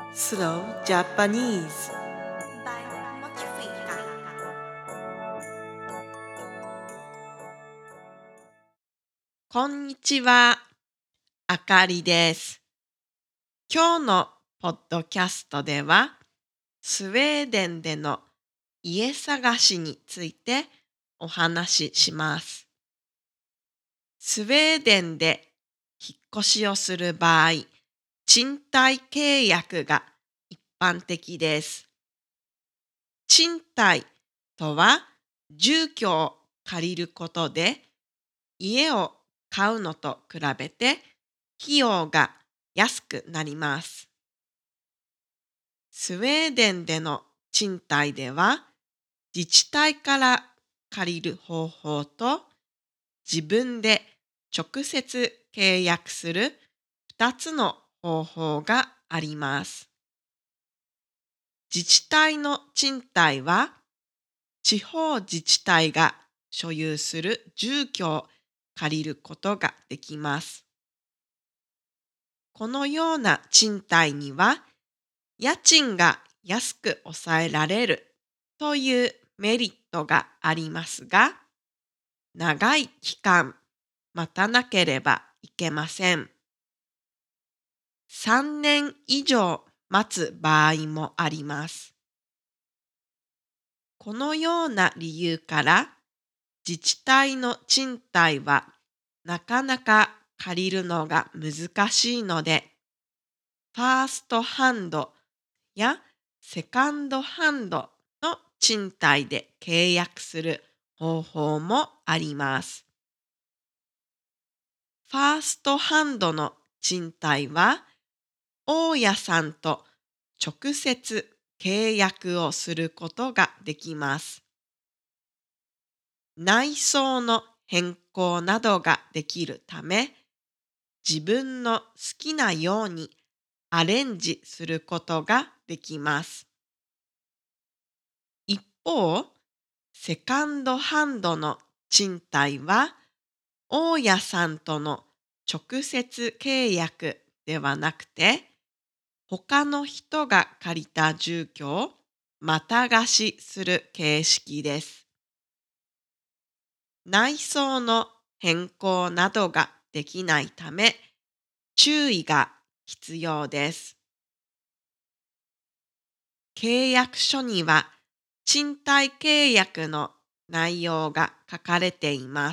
Slow Japanese。 by Mochifika。 こんにちは、あかりです。今日のポッドキャストでは、スウェーデンでの家探しについてお話しします。スウェーデンで引っ越しをする場合、賃貸契約が一般的です。賃貸とは、住居を借りることで、家を買うのと比べて費用が安くなります。スウェーデンでの賃貸では、自治体から借りる方法と自分で直接契約する2つの方法があります。自治体の賃貸は、地方自治体が所有する住居を借りることができます。このような賃貸には、家賃が安く抑えられるというメリットがありますが、長い期間待たなければいけません。3年以上待つ場合もあります。このような理由から、自治体の賃貸はなかなか借りるのが難しいので、ファーストハンドやセカンドハンドの賃貸で契約する方法もあります。ファーストハンドの賃貸は、大家さんと直接契約をすることができます。内装の変更などができるため、自分の好きなようにアレンジすることができます。一方、セカンドハンドの賃貸は、大家さんとの直接契約ではなくて、他の人が借りた住居をまた貸しする形式です。内装の変更などができないため、注意が必要です。契約書には、賃貸契約の内容が書かれています。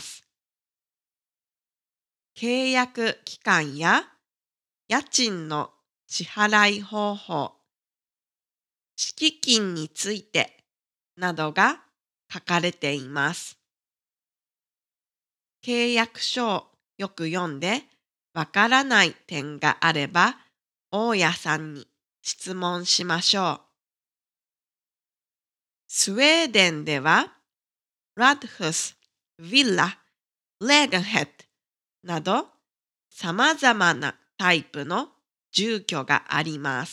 契約期間や家賃の支払い方法、敷金についてなどが書かれています。契約書をよく読んでわからない点があれば、大家さんに質問しましょう。スウェーデンでは、ラドフス、ヴィラ、レーガンヘッドなど様々なタイプの住居があります。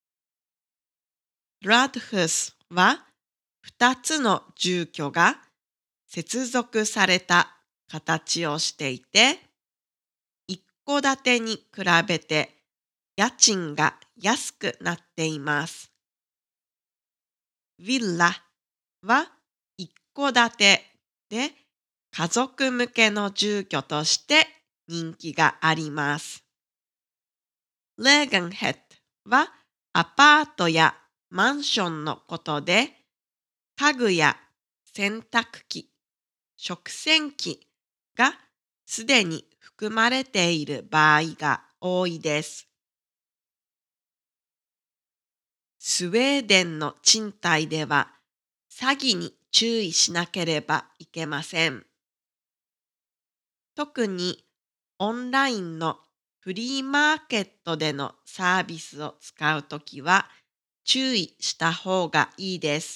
ラドフスは2つの住居が接続された形をしていて、一戸建てに比べて家賃が安くなっています。ヴィラは一戸建てで家族向けの住居として人気があります。レーガンヘッドはアパートやマンションのことで、家具や洗濯機、食洗機がすでに含まれている場合が多いです。スウェーデンの賃貸では詐欺に注意しなければいけません。特にオンラインのフリーマーケットでのサービスを使うときは注意した方がいいです。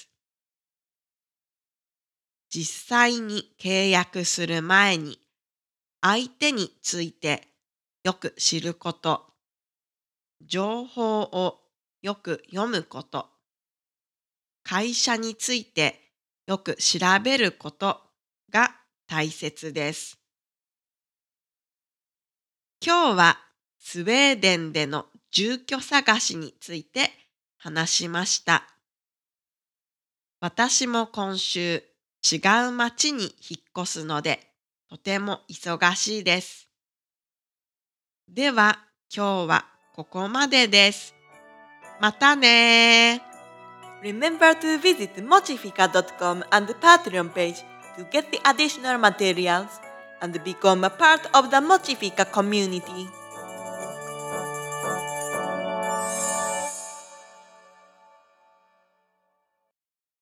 実際に契約する前に相手についてよく知ること、情報をよく読むこと、会社についてよく調べることが大切です。今日はスウェーデンでの住居探しについて話しました。私も今週違う町に引っ越すのでとても忙しいです。では今日はここまでです。またね。 Remember to visit mochifica.com and the Patreon page to get the additional materials and become a part of the Mochifica community.